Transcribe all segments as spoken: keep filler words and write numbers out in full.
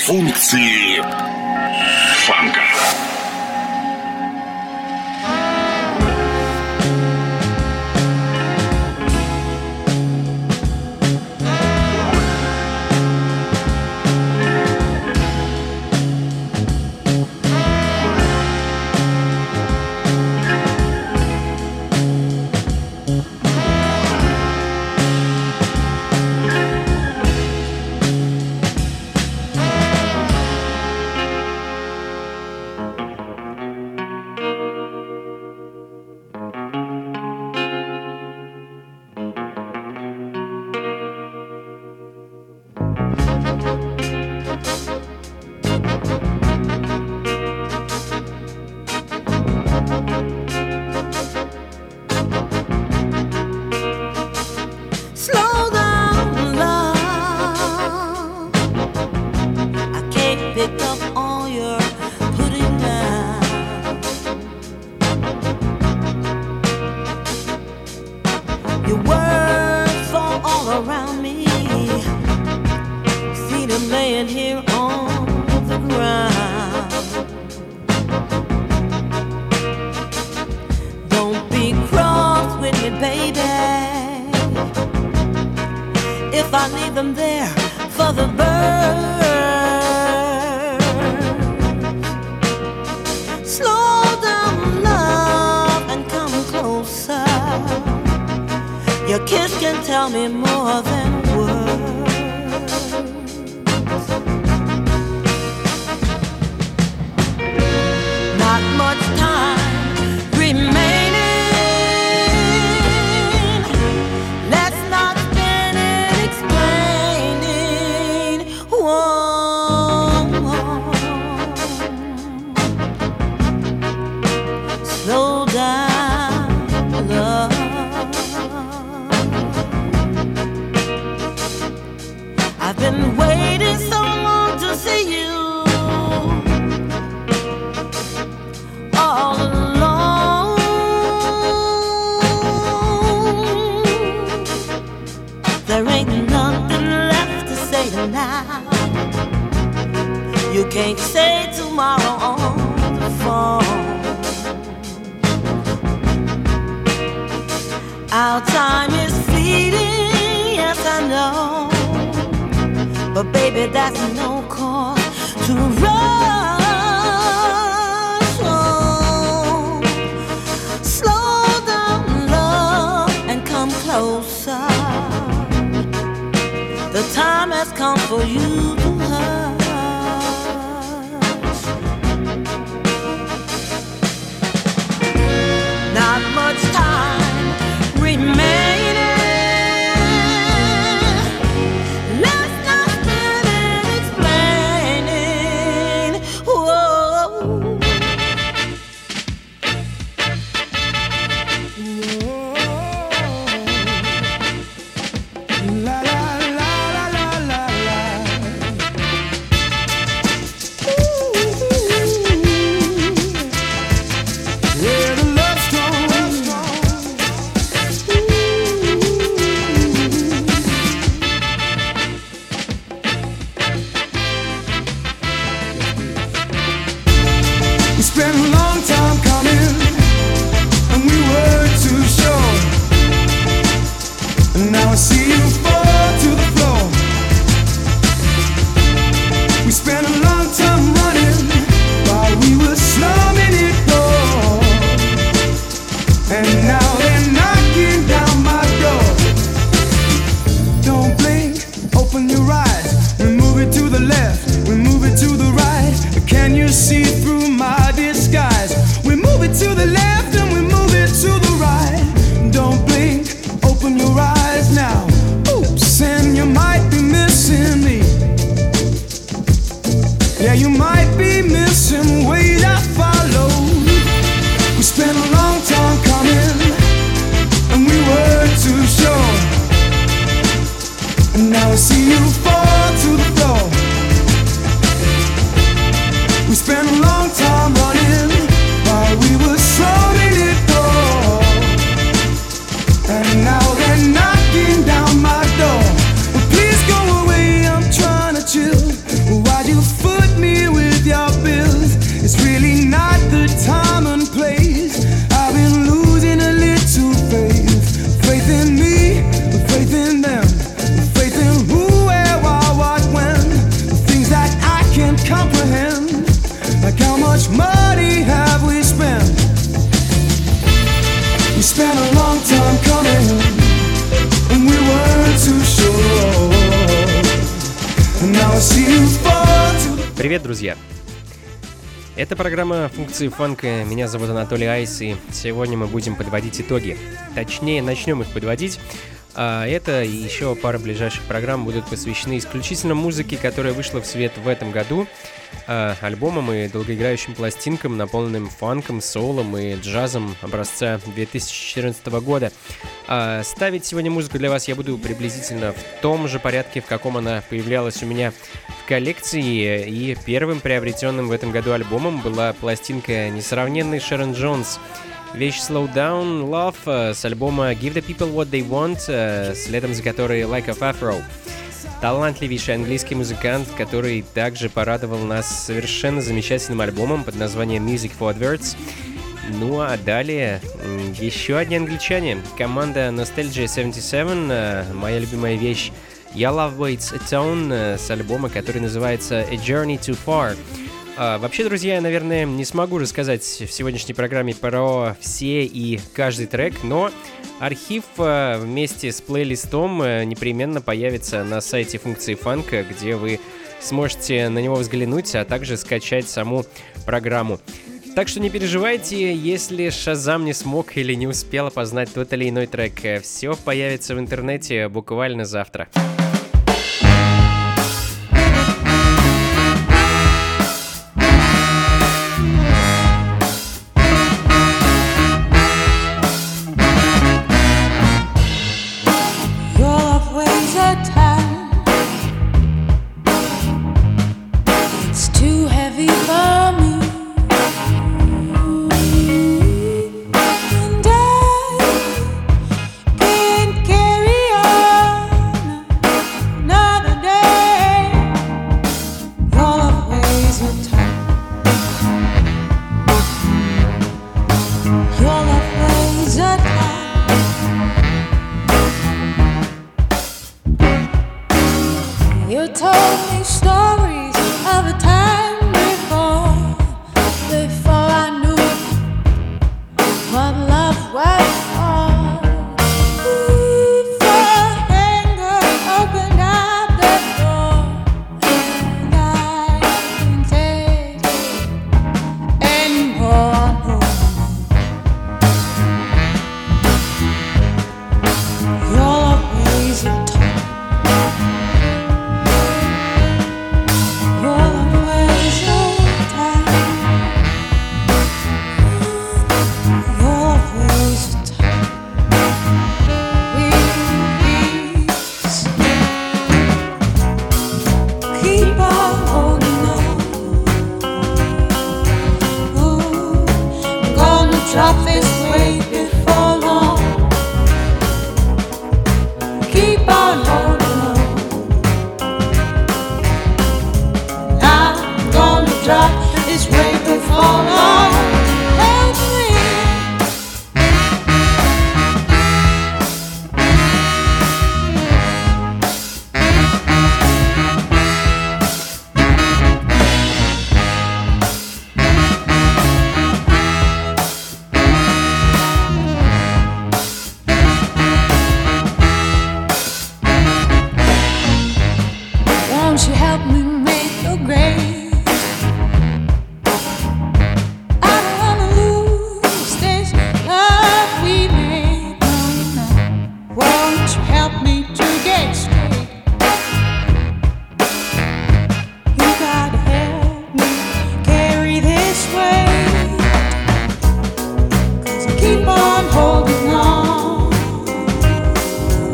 Функции фанка. Oops, and you might be missing me. Привет, друзья! Это программа «Функции фанка». Меня зовут Анатолий Айс, и сегодня мы будем подводить итоги. Точнее, начнем их подводить. А это и еще пара ближайших программ будут посвящены исключительно музыке, которая вышла в свет в этом году. А, альбомам и долгоиграющим пластинкам, наполненным фанком, соулом и джазом образца две тысячи четырнадцатого года. А, ставить сегодня музыку для вас я буду приблизительно в том же порядке, в каком она появлялась у меня в коллекции. И первым приобретенным в этом году альбомом была пластинка несравненной Шерон Джонс. Вещь Slow Down Love с альбома Give the People What They Want, следом за которой Like a Afro. Талантливейший английский музыкант, который также порадовал нас совершенно замечательным альбомом под названием Music for Adverts. Ну а далее еще одни англичане. Команда Nostalgia семьдесят семь, моя любимая вещь Your Love Waits a Tone с альбома, который называется A Journey Too Far. А, вообще, друзья, я, наверное, не смогу рассказать в сегодняшней программе про все и каждый трек, но архив а, вместе с плейлистом а, непременно появится на сайте функции фанка, где вы сможете на него взглянуть, а также скачать саму программу. Так что не переживайте, если Шазам не смог или не успел опознать тот или иной трек. Все появится в интернете буквально завтра.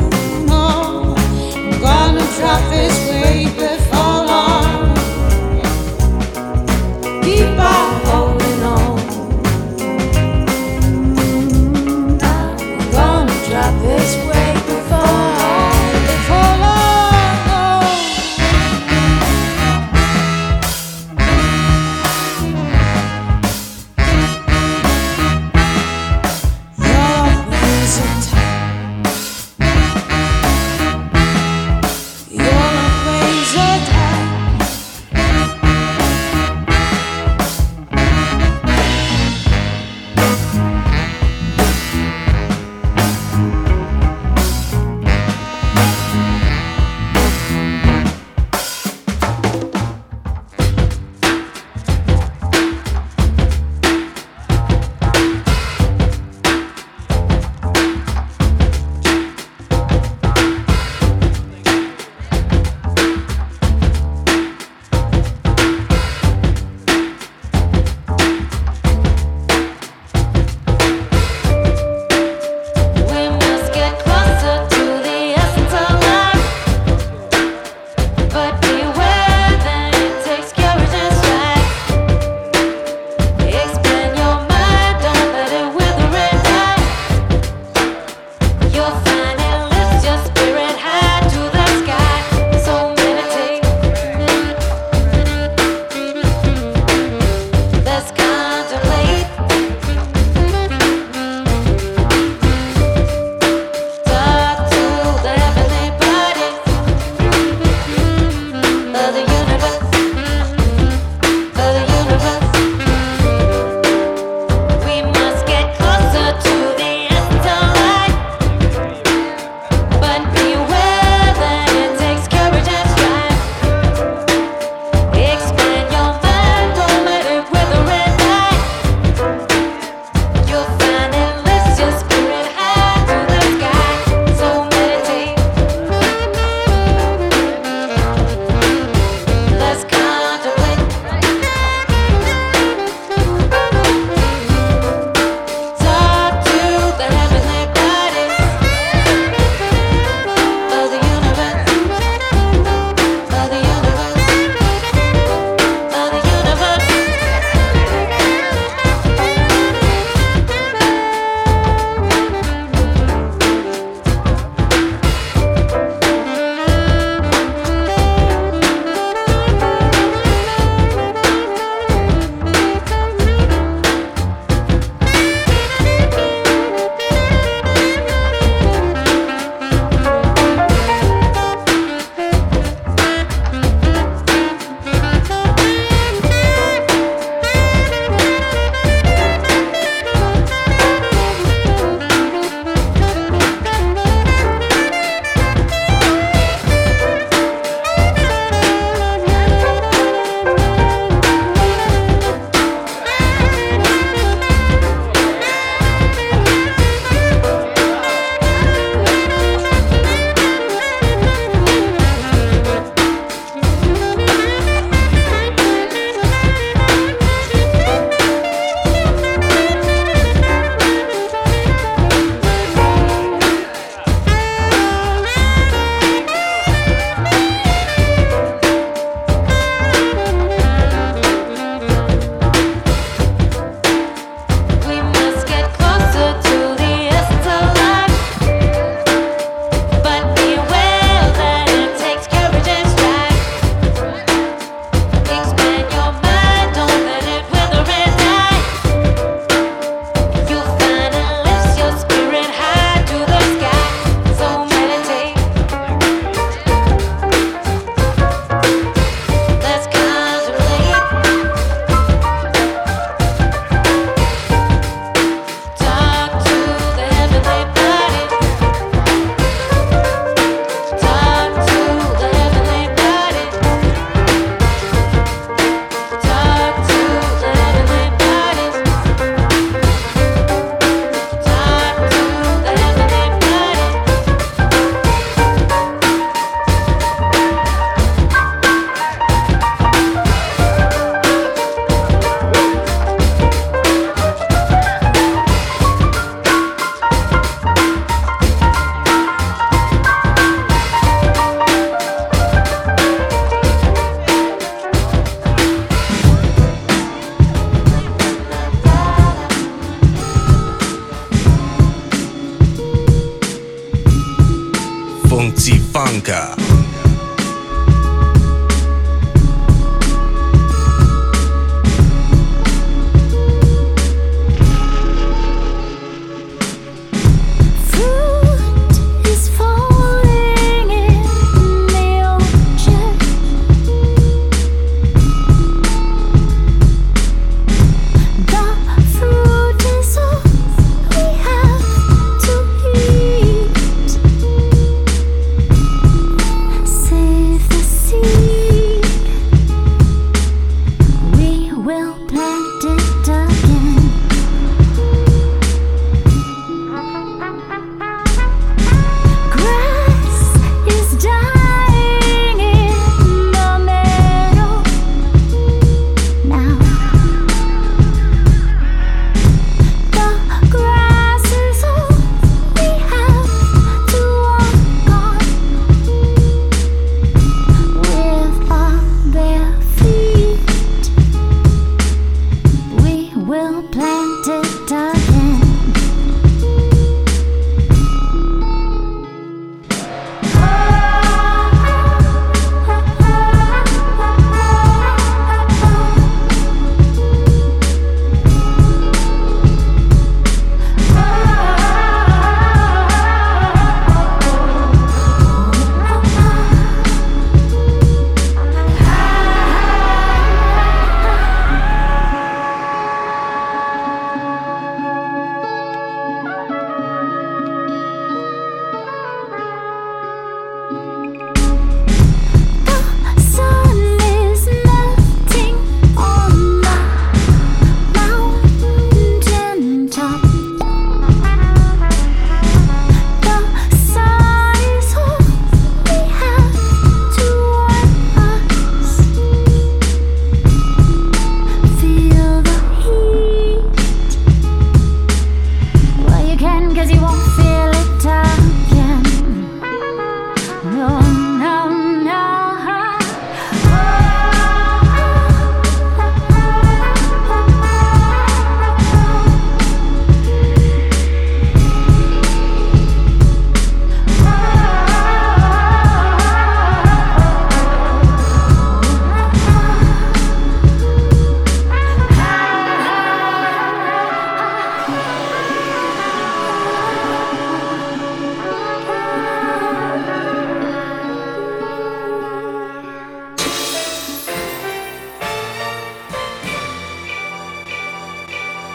Drop this way before long.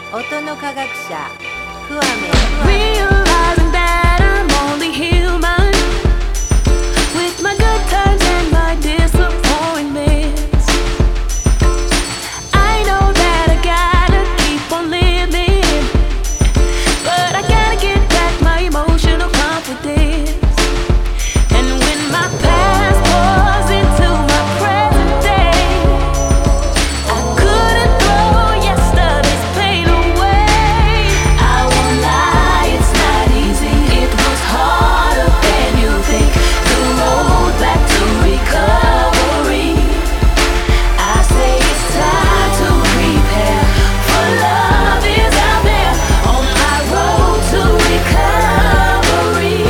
音の科学者クワメ Realizing that I'm only human with my good times and my disappointments. I know that I gotta keep on living, but I gotta get back my emotional confidence. And when my past pours into my present day, I couldn't throw yesterday's pain away. I won't lie, it's not easy. It was harder than you think. The road back to recovery. I say it's time to prepare, for love is out there on my road to recovery.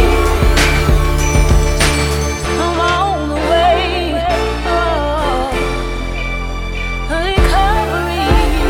I'm on the way, oh, recovery.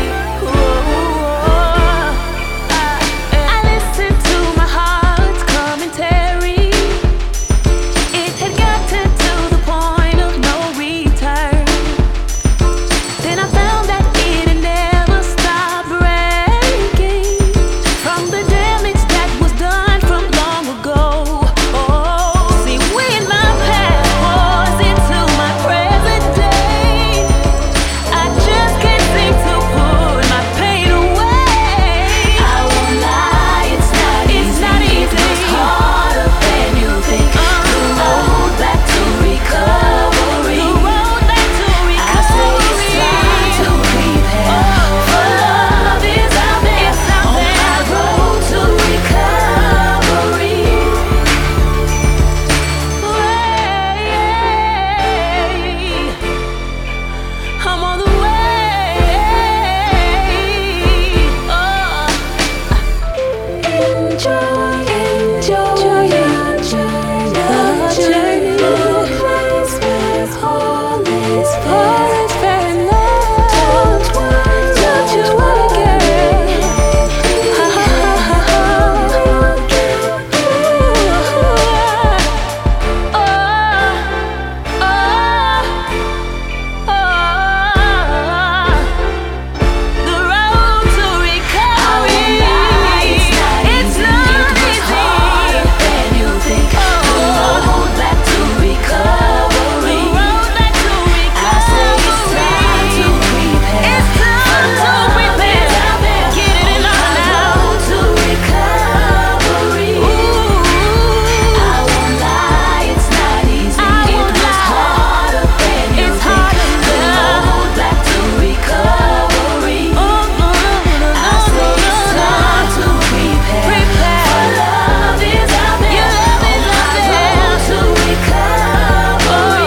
Oh, I, I listened to my heart's commentary. It had gotten to the point of no return. Then I found that it had never stopped breaking from the damage that was done from long ago. Oh, see, when my past pours into my present day, I just can't seem to put my pain away. I won't lie, it's not easy. It was harder than you think. The road back to recovery. The road back to recovery. I say it's time to prepare, for love is out there on my road to recovery. I'm on the way. Oh. Enjoy, enjoy, enjoy the journey. The place where all is fair. Fair enough. Don't you worry, girl. Ha ha ha ha ha. The road to recovery. It's not easy. Than you think. The road back to recovery. The road back to recovery. I say it's time to prepare. It's time to prepare. Get it in on now. To recovery. I won't lie, it's not easy. It was harder than you think. The road back to recovery. I say it's time to prepare, for love is out there on my road to recovery.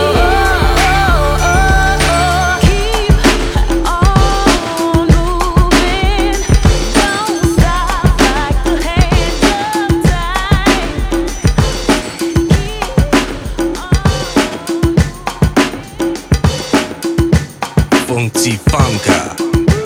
Keep on moving, don't stop like the hands of time. Funky Funka.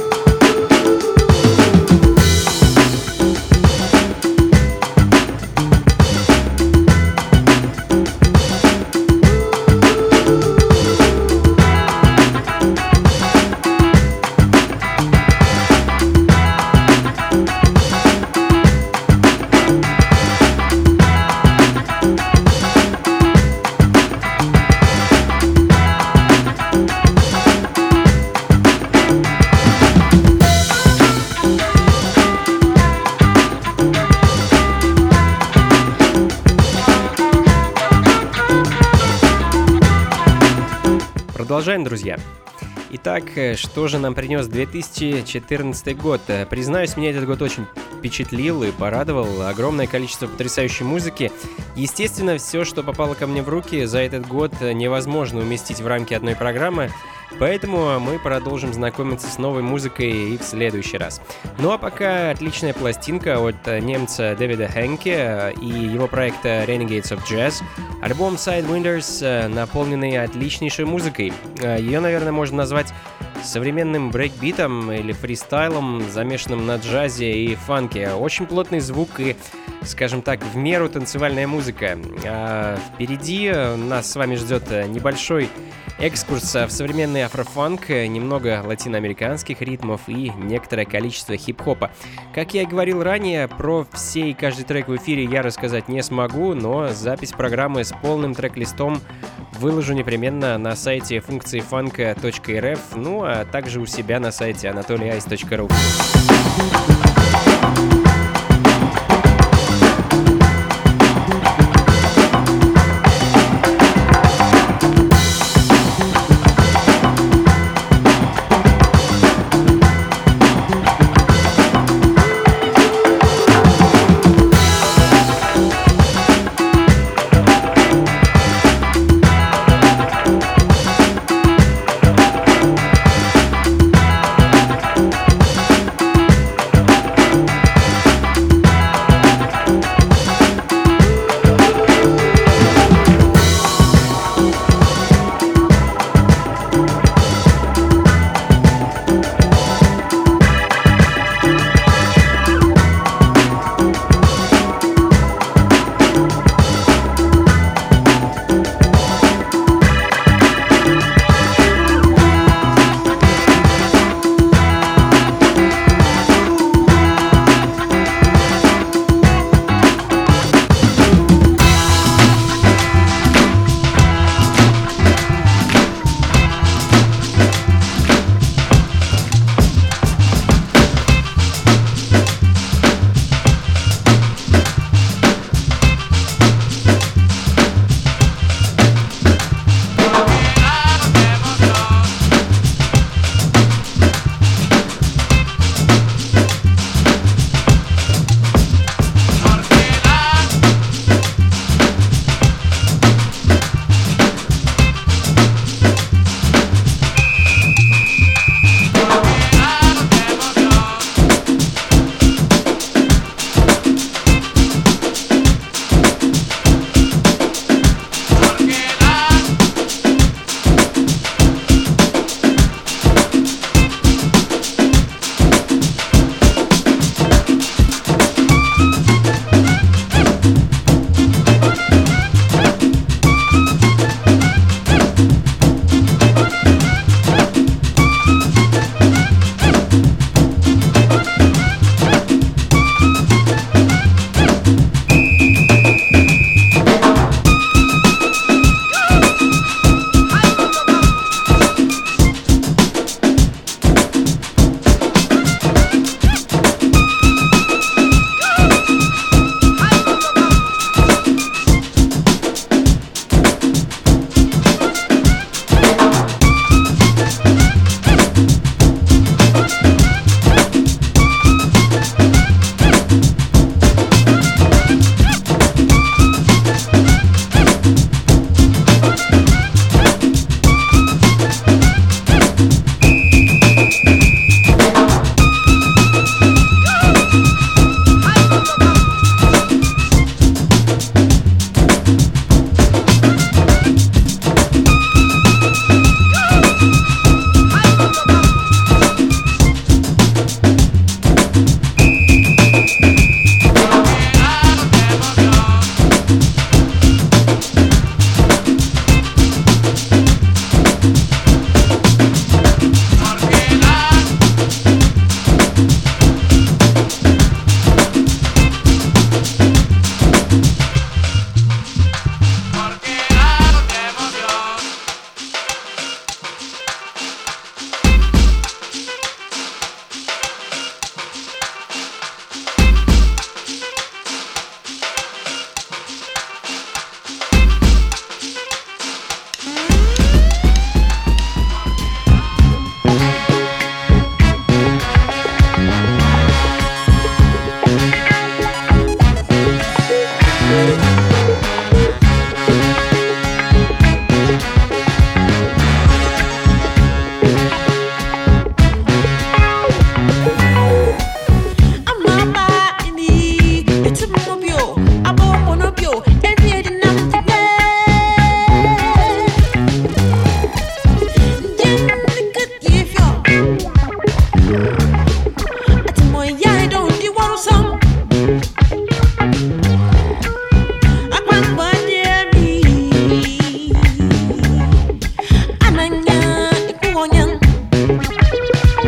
Продолжаем, друзья. Итак, что же нам принес две тысячи четырнадцатый год? Признаюсь, меня этот год очень впечатлил и порадовал. Огромное количество потрясающей музыки. Естественно, все, что попало ко мне в руки за этот год, невозможно уместить в рамки одной программы. Поэтому мы продолжим знакомиться с новой музыкой и в следующий раз. Ну а пока отличная пластинка от немца Дэвида Хенке и его проекта Renegades of Jazz. Альбом Sidewinders, наполненный отличнейшей музыкой. Ее, наверное, можно назвать современным брейкбитом или фристайлом, замешанным на джазе и фанке. Очень плотный звук и, скажем так, в меру танцевальная музыка. А впереди нас с вами ждет небольшой экскурс в современный афрофанк, немного латиноамериканских ритмов и некоторое количество хип-хопа. Как я и говорил ранее, про все и каждый трек в эфире я рассказать не смогу, но запись программы с полным трек-листом выложу непременно на сайте функции фанка точка эр эф, ну а также у себя на сайте анатолий айс точка ру.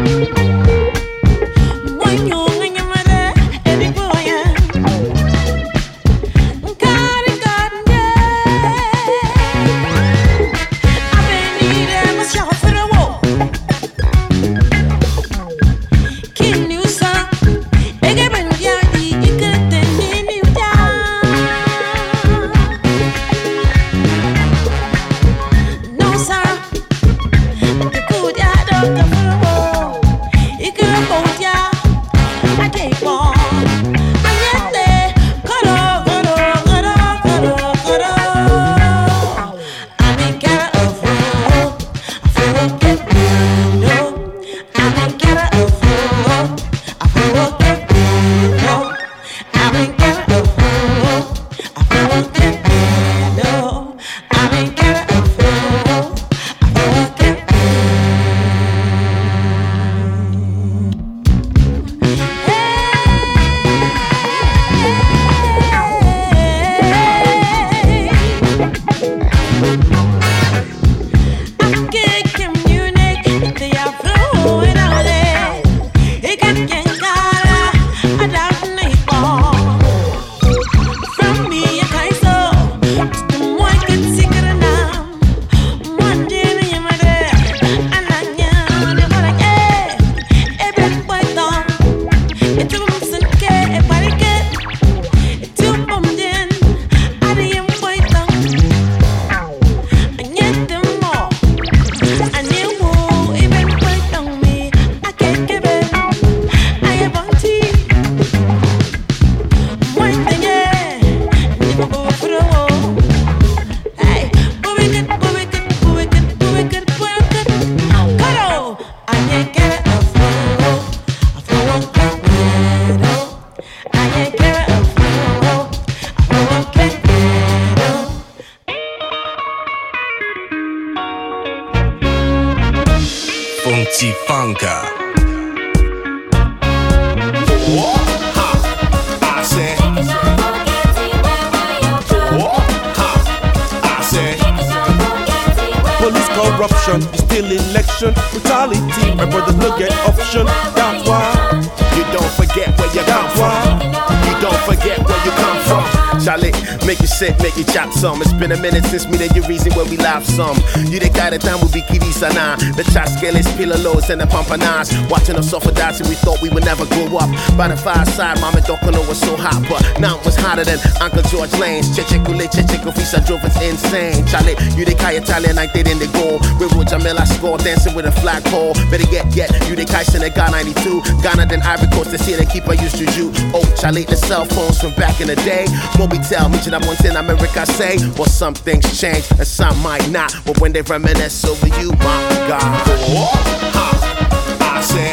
Funky Funka. I said, I said, police corruption, still election, brutality. My brother look at option. That's why you don't forget where you come from. You don't forget where you come from. Charlie, make you sick, make you chop some. It's been a minute since me that you reason where we laugh some. You the guy that time will be kiddy sana. The chaskeles, pillalos, and the pampanas. Watching us suffer dancing, we thought we would never grow up. By the fireside, Mama Dokano was so hot, but now it was hotter than Uncle George Lane's. Chechekule, Chechekofisa drove us insane. Charlie, you the guy Italian like they in the goal. With Roger Miller score, dancing with a flagpole. Better get, get, you the guy Senegal ninety-two. Ghana then Ivory Coast, they see the keeper used to you. Oh, Charlie, the cell phones from back in the day. We tell me that once in America say, well, some things change and some might not. But when they reminisce over you, my God. Oh, ha, I said.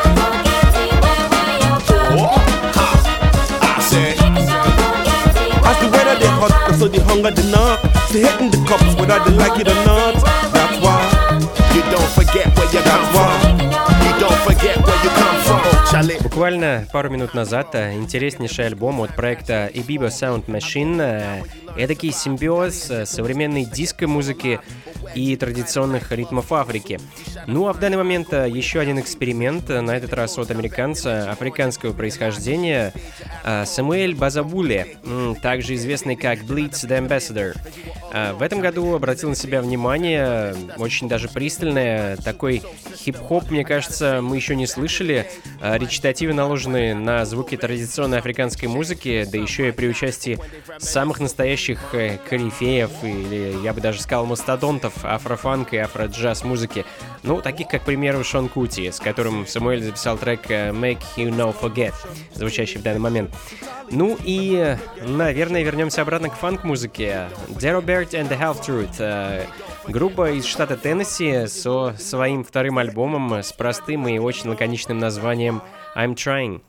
Oh, ha, I said. As the weather they hot, so the hunger the knock. They hitting the cups whether they like it or not. That's why you don't forget where you come from. You don't forget where you come from. Буквально пару минут назад интереснейший альбом от проекта Ibibo Sound Machine. Эдакий симбиоз современной диско-музыки и традиционных ритмов Африки. Ну а в данный момент еще один эксперимент, на этот раз от американца африканского происхождения Самуэль Базабуле, также известный как Bleeds the Ambassador. В этом году обратил на себя внимание, очень даже пристальное, такой хип-хоп, мне кажется, мы еще не слышали. Речитативы наложены на звуки традиционной африканской музыки, да еще и при участии самых настоящих корифеев, или я бы даже сказал мастодонтов афрофанка и афро-джаз музыки. Ну, таких как, к примеру, Шон Кути, с которым Самуэль записал трек Make You No Forget, звучащий в данный момент. Ну и, наверное, вернемся обратно к фанк-музыке. Darryl Byrd and the Half Truth. Группа из штата Теннесси со своим вторым альбомом с простым и очень лаконичным названием I'm Trying.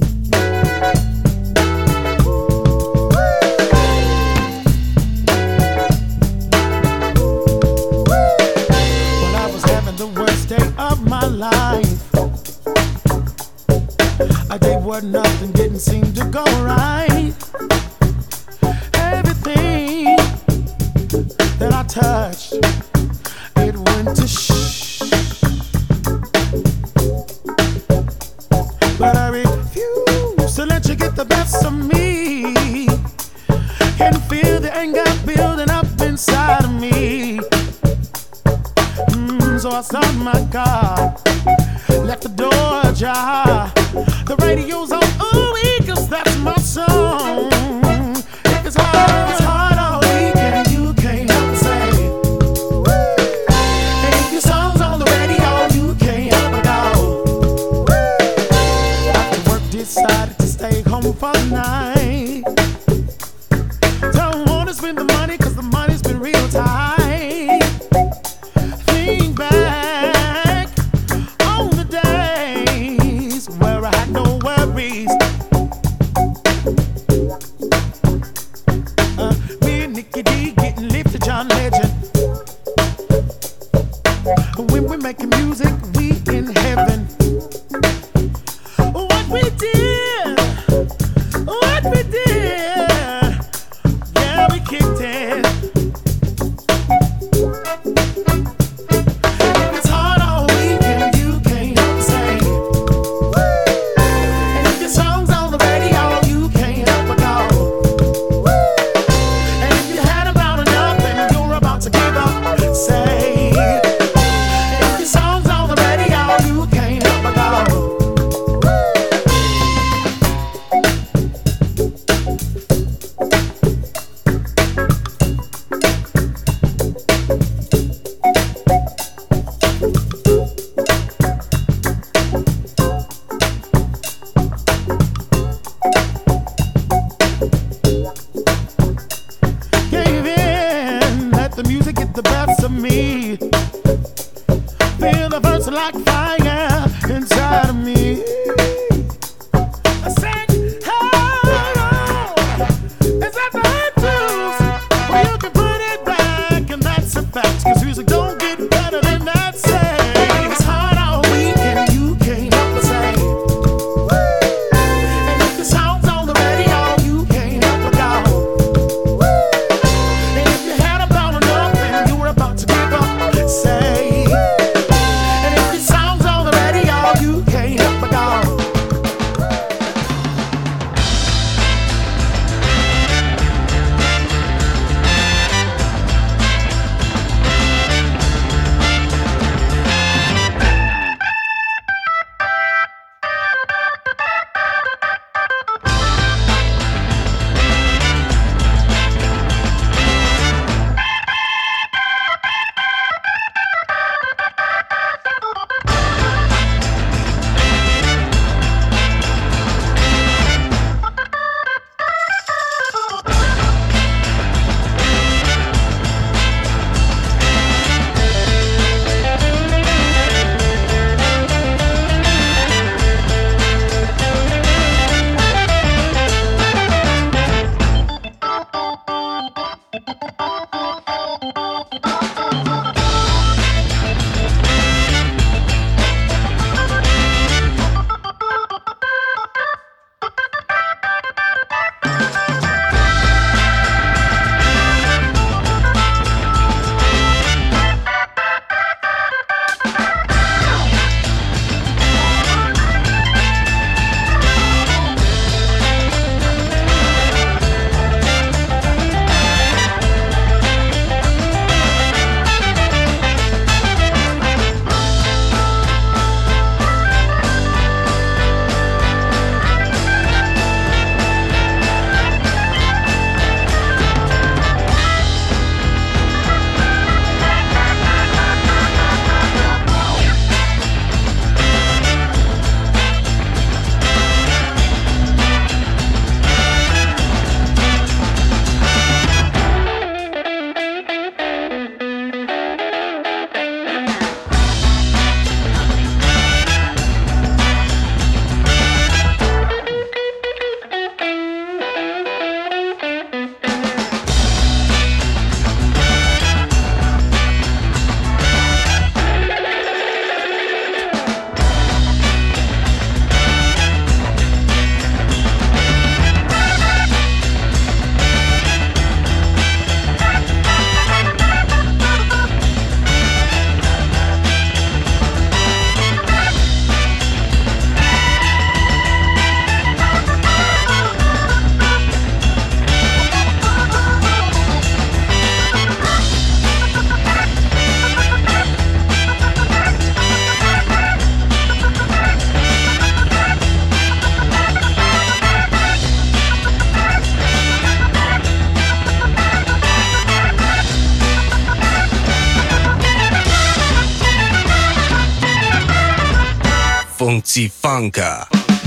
Well, I was having the worst day of my life. A day where nothing didn't seem to go right. Everything that I touched, it went to shh. on my car. Left the door ajar. The radio's on, ooh, cause that's my song. If it's hard, it's hard all weekend, you can't help but say. And if your song's on the radio, you can't help but go. After work, decided to stay home for the night. Don't wanna spend the money, cause the money's been real tight. Think back on the days where I had no worries. Uh, me and Nicky D getting lift to John Legend. When we're making music, we in heaven. What we did, what we did, yeah, we kicked it. It's hard all weekend, you can't help but say. And if your song's on the radio, you can't help but go. And if you had about enough and you're about to give up, say. And if your song's on the radio, you can't help but go. Gave in, let the music get the best of me. Feel the verse like fire inside of me. I sang, hello, is that the hot blues? Well, you can put it back, and that's a fact, cause music don't get better than that. Say, it's hard all weekend, you can't help but say. And if the song's on the radio, you can't help but go. And if you had about enough and you were about to give up, say. And if your song's on the radio, you can't help Funky Funka.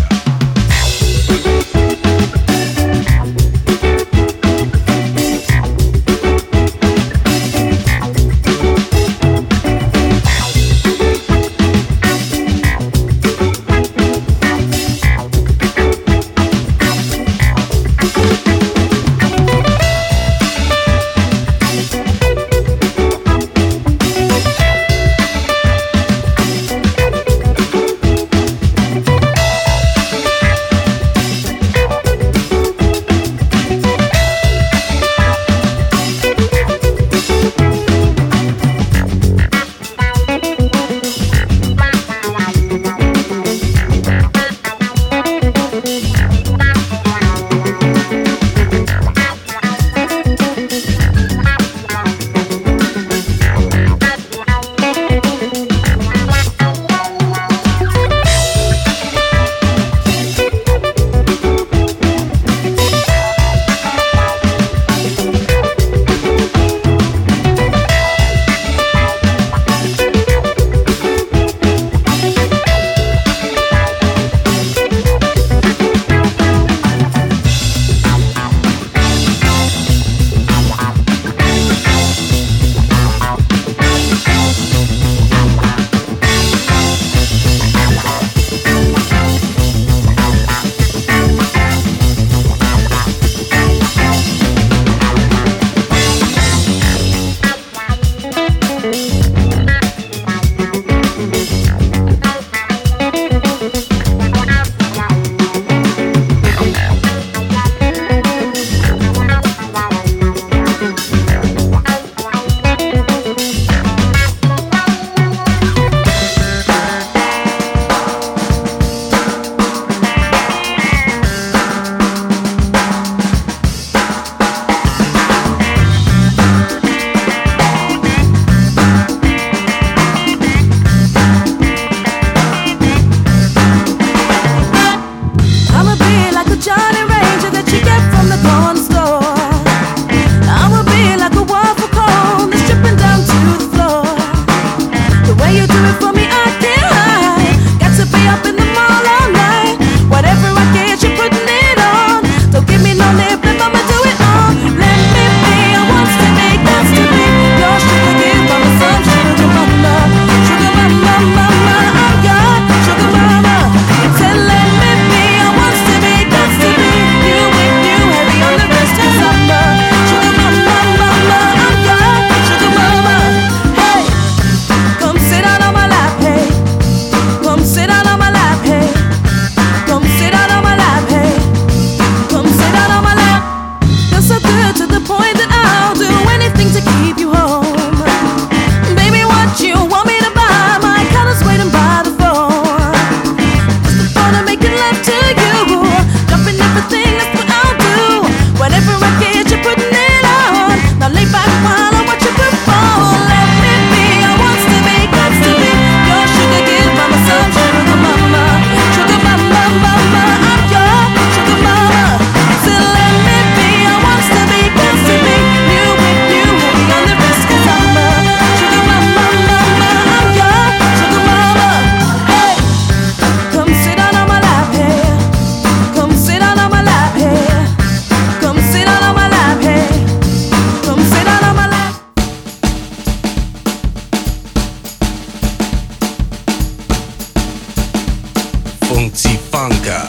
Funky Funka.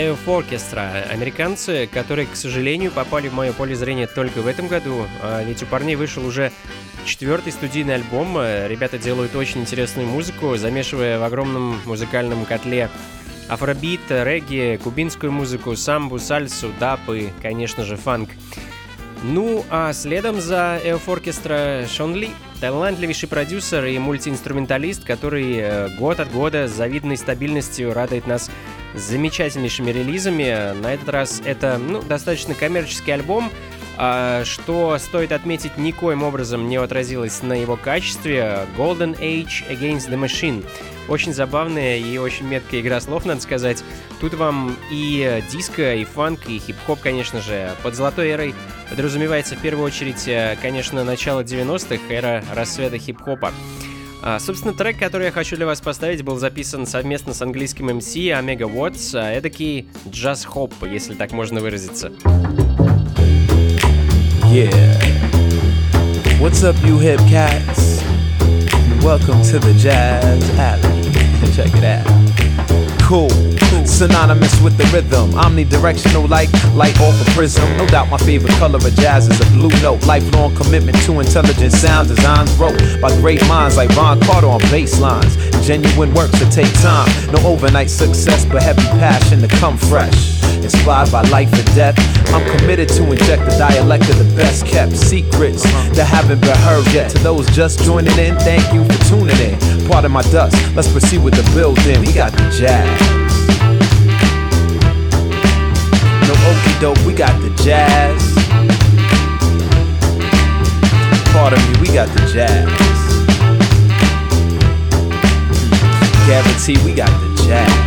Earth Orchestra, американцы, которые, к сожалению, попали в мое поле зрения только в этом году, а ведь у парней вышел уже четвертый студийный альбом. Ребята делают очень интересную музыку, замешивая в огромном музыкальном котле афробит, регги, кубинскую музыку, самбу, сальсу, даб и, конечно же, фанк. Ну, а следом за Earth Orchestra Шон Ли, талантливейший продюсер и мультиинструменталист, который год от года с завидной стабильностью радует нас замечательнейшими релизами. На этот раз это, ну, достаточно коммерческий альбом, что, стоит отметить, никоим образом не отразилось на его качестве. Golden Age Against the Machine. Очень забавная и очень меткая игра слов, надо сказать. Тут вам и диско, и фанк, и хип-хоп, конечно же. Под золотой эрой подразумевается в первую очередь, конечно, начало девяностых, эра расцвета хип-хопа. А, собственно, трек, который я хочу для вас поставить, был записан совместно с английским эм си Omega Watts, эдакий джаз-хоп, если так можно выразиться. Yeah. What's up, you hip cats? Welcome to the Jazz Alley. Check it out. Cool. Synonymous with the rhythm. Omnidirectional like light off a prism. No doubt my favorite color of jazz is a blue note. Lifelong commitment to intelligent sound designs wrote by great minds like Ron Carter on bass lines. Genuine works that take time. No overnight success, but heavy passion to come fresh. Inspired by life and death, I'm committed to inject the dialect of the best kept secrets that haven't been heard yet. To those just joining in, thank you for tuning in. Pardon my dust, let's proceed with the building. We got the jazz. No okie doke, we got the jazz. Pardon me, we got the jazz. Guarantee we got the jazz.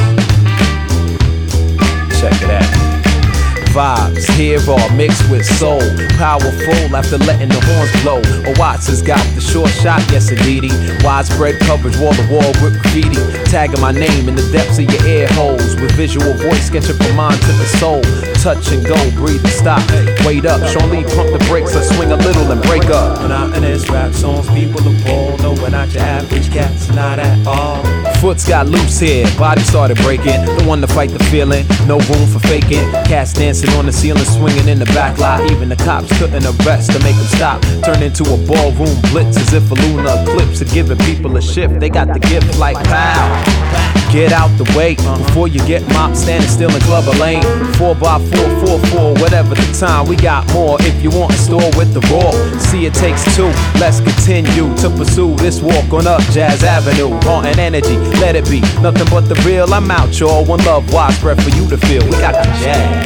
Check it out. Vibes here all mixed with soul. Powerful after letting the horns blow. A Watts has got the short shot, yes indeedy. Widespread coverage, wall to wall with graffiti. Tagging my name in the depths of your ear holes. With visual voice sketching from mind to the soul. Touch and go, breathe and stop. Wait up, Sean Lee pump the brakes. Let's swing a little and break up. Monotonous rap songs, people appalled. No, we're not your average cats, not at all. Foots got loose here, body started breaking. The one to fight the feeling, no room for faking. Cats dancing on the ceiling, swinging in the back lot. Even the cops couldn't arrest to make them stop. Turned into a ballroom blitz as if a lunar eclipse had given people a shift. They got the gift like pow. Get out the way before you get mopped, standing still in Glover Lane. Four by four, four, four, whatever the time. We got more if you want a store with the raw. See, it takes two. Let's continue to pursue this walk on up Jazz Avenue. Haunting energy, let it be nothing but the real. I'm out, y'all. One love, widespread for you to feel. We got the jazz.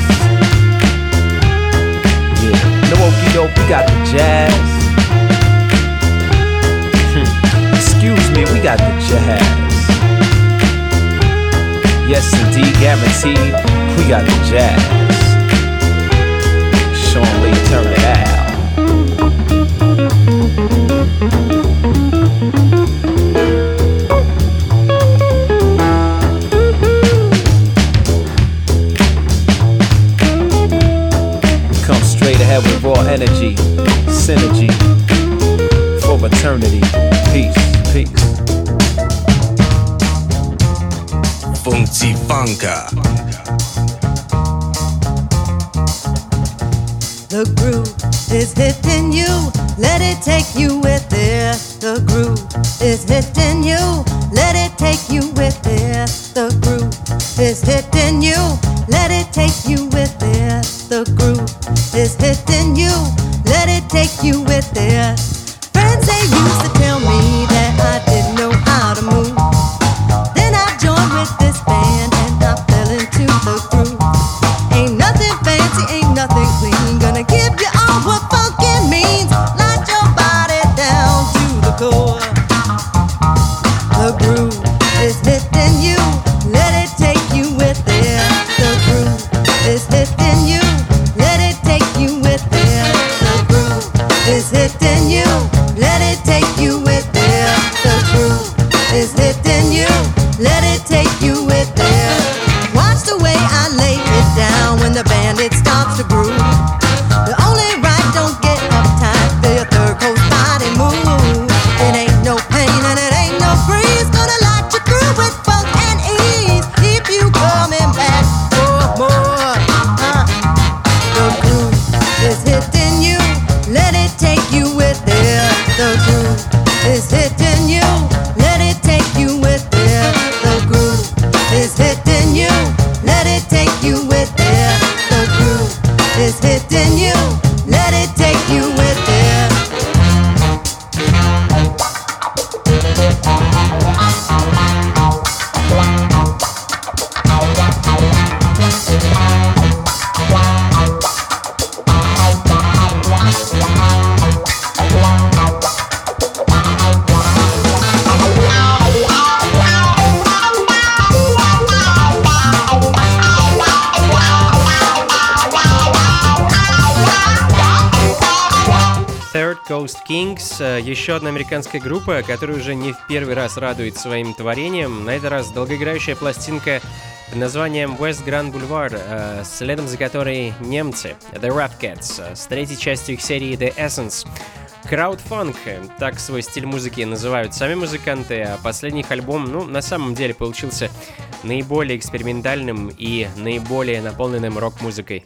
Yeah, no okie doke, we got the jazz. Excuse me, we got the jazz. Yes, indeed, guaranteed, we got the jazz. Sean Lee, turn it out. Come straight ahead with raw energy, synergy, for eternity. Peace, peace. Funky Funka. The groove is hitting you, let it take you with it. The groove is hitting you, let it take you with it. The groove is hitting you, let it take you with it. The groove is hitting you, let it take you with it. Friends, they used to tell me that I didn't know how to move. Then I joined with this band and I fell into the groove. Ain't nothing fancy, ain't nothing clean. Gonna give you all what funkin' means. Light your body down to the core. The groove is hitting you, let it take you with it. The groove is hitting you, let it take you with it. The groove is hitting you, let it take you with it. Third Coast Kings, еще одна американская группа, которая уже не в первый раз радует своим творением. На этот раз долгоиграющая пластинка под названием West Grand Boulevard, следом за которой немцы, The Rapcats, с третьей частью их серии The Essence. Краудфанк, так свой стиль музыки называют сами музыканты, а последний их альбом, ну, на самом деле получился наиболее экспериментальным и наиболее наполненным рок-музыкой.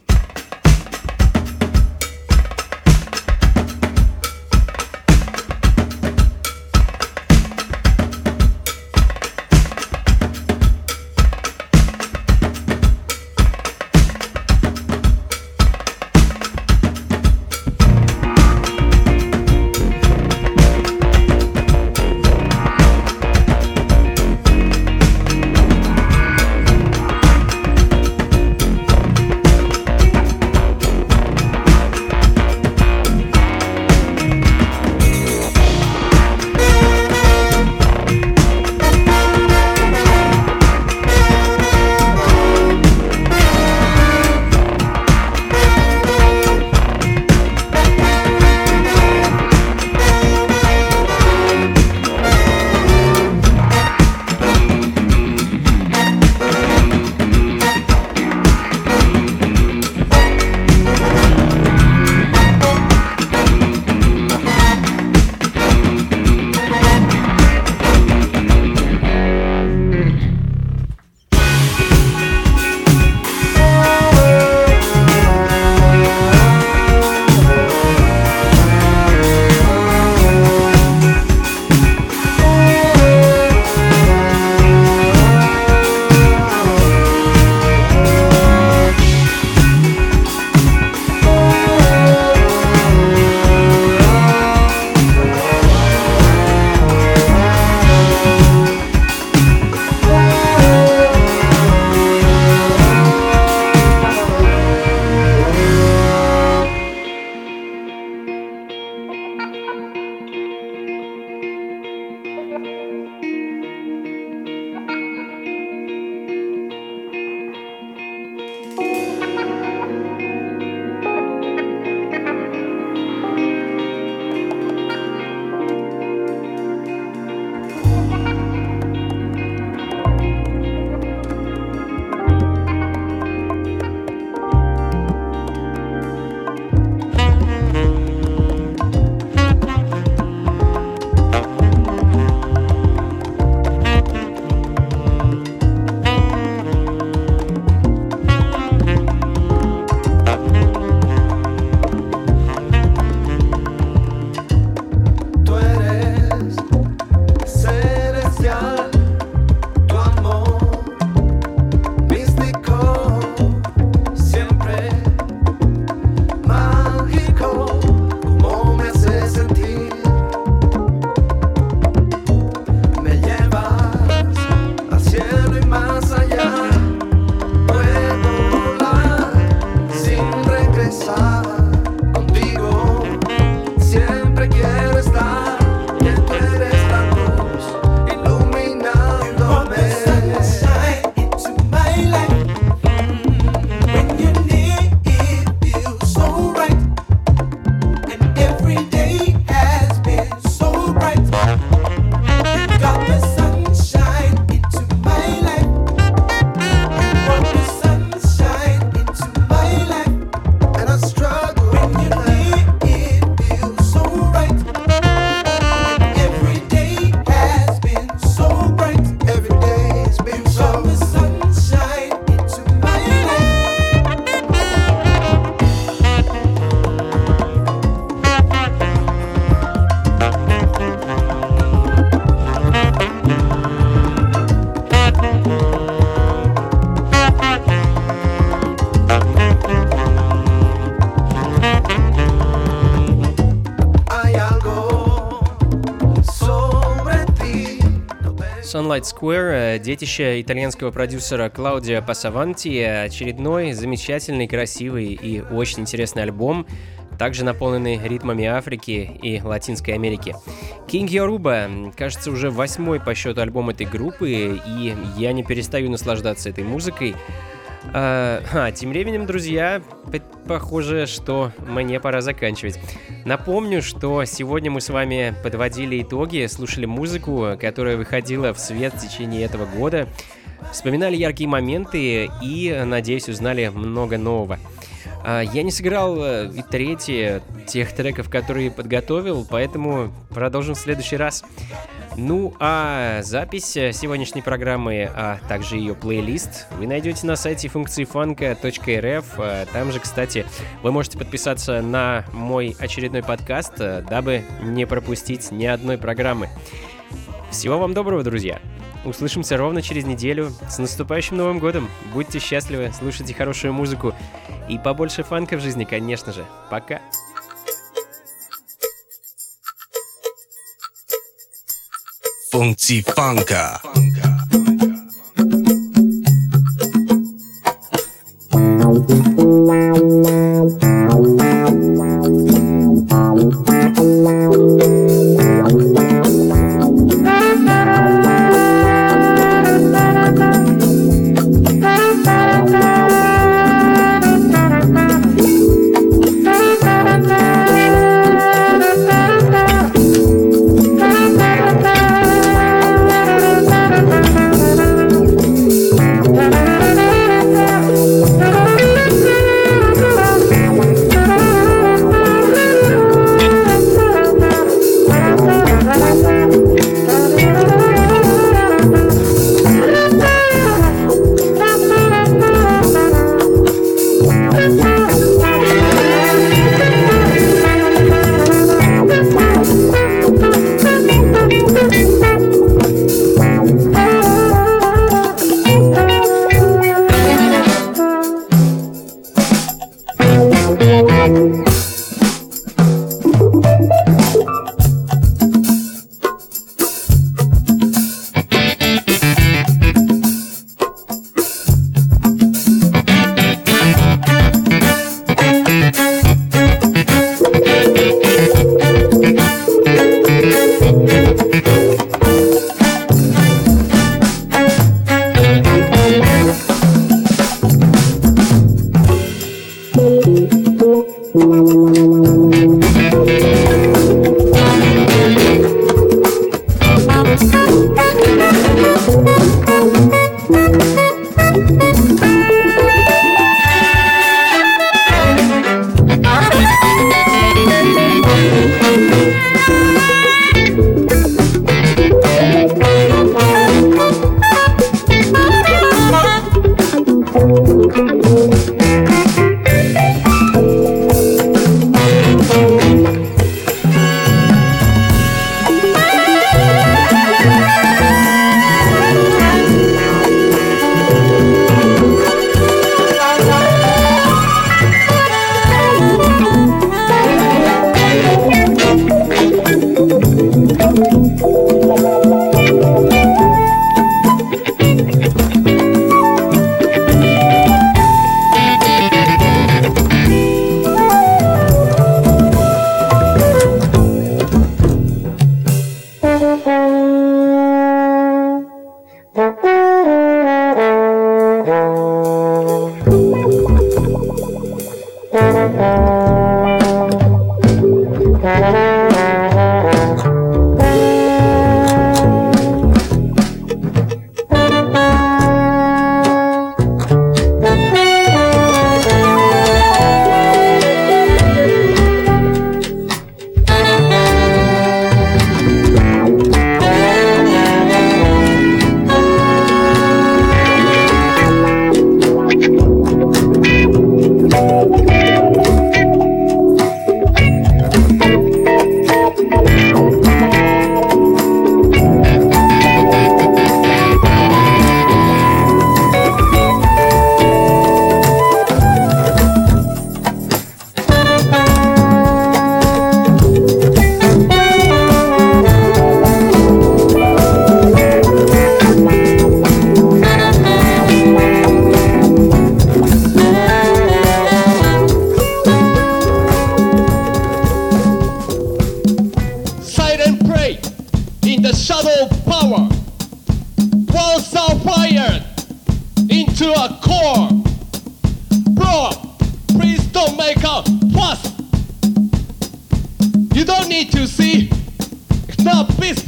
Sunlight Square, детище итальянского продюсера Клаудио Пассаванти, очередной замечательный, красивый и очень интересный альбом, также наполненный ритмами Африки и Латинской Америки. King Yoruba, кажется, уже восьмой по счету альбом этой группы, и я не перестаю наслаждаться этой музыкой. А, а, тем временем, друзья, похоже, что мне пора заканчивать. Напомню, что сегодня мы с вами подводили итоги, слушали музыку, которая выходила в свет в течение этого года, вспоминали яркие моменты и, надеюсь, узнали много нового. А, я не сыграл и трети тех треков, которые подготовил, поэтому продолжим в следующий раз. Ну, а запись сегодняшней программы, а также ее плейлист вы найдете на сайте функции фанка точка эр эф. Там же, кстати, вы можете подписаться на мой очередной подкаст, дабы не пропустить ни одной программы. Всего вам доброго, друзья! Услышимся ровно через неделю. С наступающим Новым годом! Будьте счастливы, слушайте хорошую музыку и побольше фанка в жизни, конечно же. Пока! Функции фанка.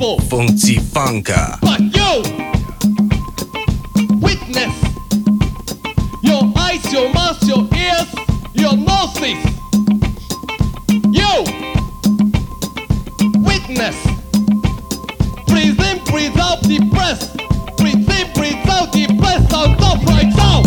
Funky Funka. But yo, witness your eyes, your mouth, your ears, your noses. Yo, witness. Breathe in, breathe out, deep breath. Breathe in, breathe out, deep breath. On top right now.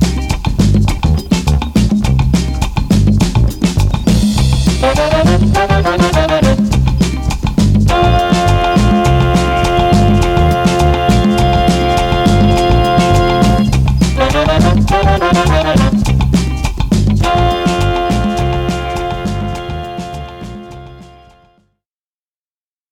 Thank you.